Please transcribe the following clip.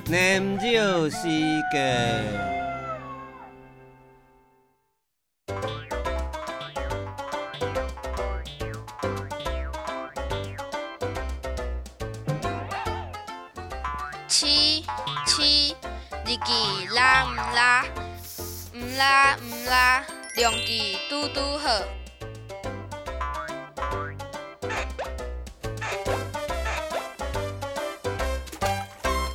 念咒时间。 七，日记拉毋拉，量记拄好。